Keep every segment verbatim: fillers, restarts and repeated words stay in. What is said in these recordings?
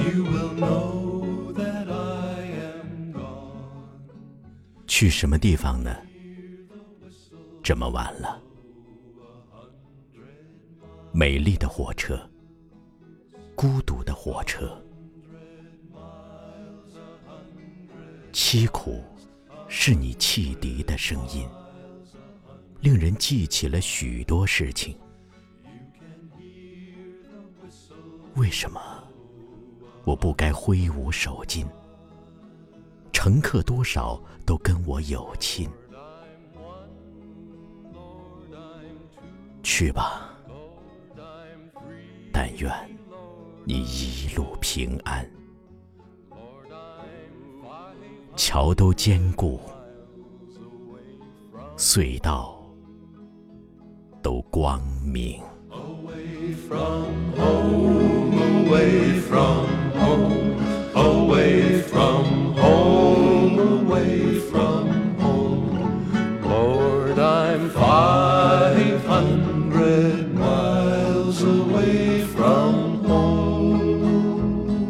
you will know that I am gone. 去什么地方呢？这么晚了。美丽的火车，孤独的火车，凄苦是你汽笛的声音，令人记起了许多事情。为什么我不该挥舞手巾？乘客多少都跟我有亲。去吧，但愿你一路平安。桥都坚固，隧道都光明。 Away from home, away from home, away from home, away from home. Lord, I'm five hundred miles away from home.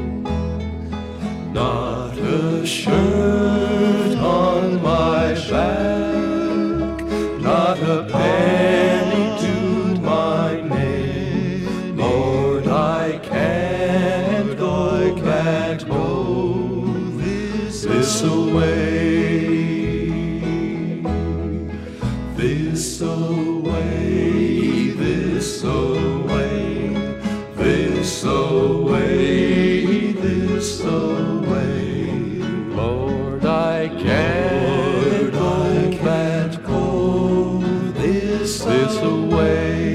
Not a shirt on my back, not a penny to my name. Lord, I can't go back, go this, this away, this away, this away, this away, this away. Lord, I can't go back, go this, this away.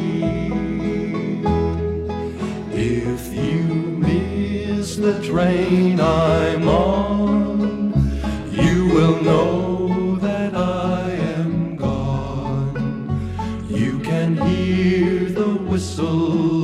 If you miss the train I'm on, you will know that I am gone. You can hear the whistle